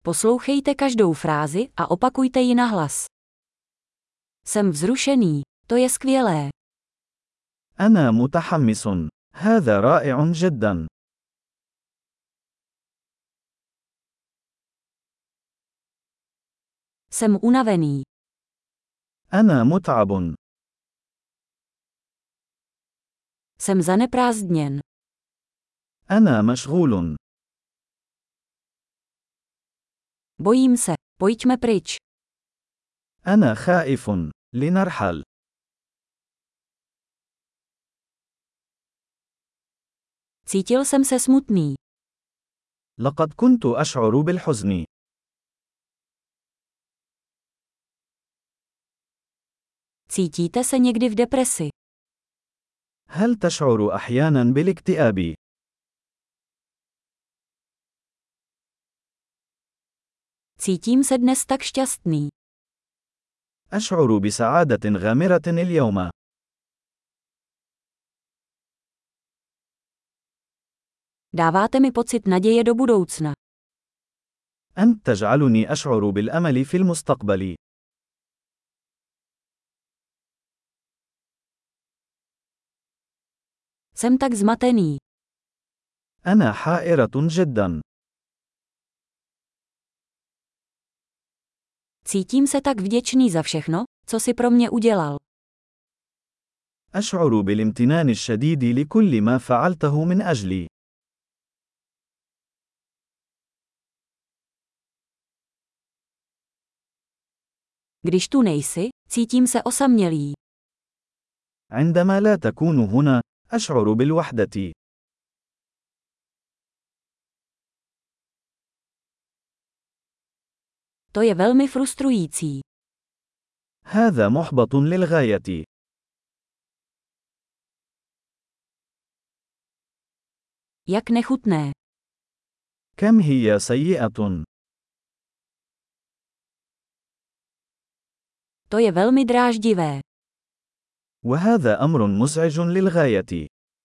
Poslouchejte každou frázi a opakujte ji nahlas. Jsem vzrušený, to je skvělé. أنا متحمس. هذا رائع جدا. Jsem unavený. أنا متعب. Jsem zaneprázdněn. أنا مشغول. Bojím se, pojďme pryč. أنا خائف. لنرحل. Cítil jsem se smutný. لقد كنت أشعر بالحزن. Cítíte se někdy v depresi? هل تشعر أحيانا بالاكتئاب؟ Cítím se dnes tak šťastný. أشعر بسعادة غامرة اليوم. Dáváte mi pocit naděje do budoucna. أنت تجعلني أشعر بالأمل في المستقبل. Jsem tak zmatený. أنا حائرة جدا. Cítím se tak vděčný za všechno, co si pro mě udělal. أشعر بالامتنان الشديد لكل ما فعلته من أجلي. Když tu nejsi, cítím se osamělý. عندما لا تكون هنا، أشعر بالوحدة. To je velmi frustrující. هذا محبط للغاية. Jak nechutné. كم هي سيئة. To je velmi dráždivé. وهذا أمر مزعج للغاية.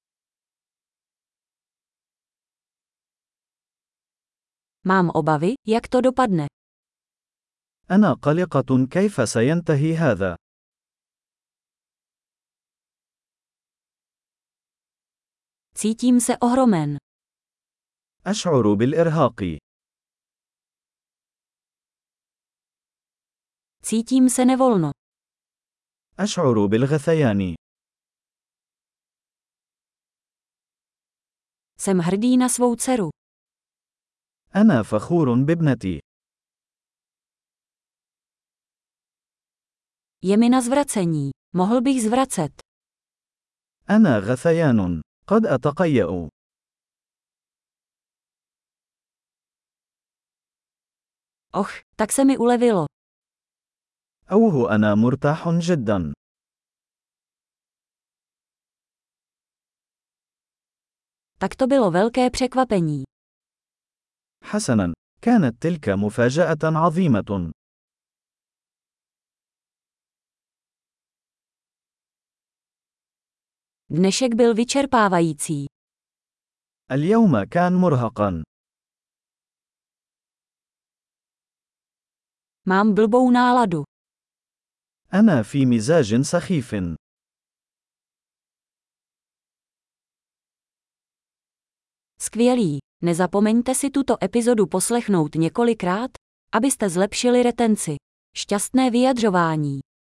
Mám obavy, jak to dopadne. أنا قلقة كيف سينتهي هذا. Cítím se ohromen. أشعر بالإرهاق. Cítím se nevolno. أشعر بالغثيان. Jsem hrdý na svou dceru. أنا فخور بابنتي. Je mi na zvracení. Mohl bych zvracet. أنا غثيان. قد أتقيأ. Och, tak se mi ulevilo. أوه أنا مرتاح جدا. Tak to bylo velké překvapení. حسنا، كانت تلك مفاجأة عظيمة. Dnešek byl vyčerpávající. اليوم كان مرهقا. Mám blbou náladu. أنا في مزاج سخيف. Skvělý. Nezapomeňte si tuto epizodu poslechnout několikrát, abyste zlepšili retenci. Šťastné vyjadřování.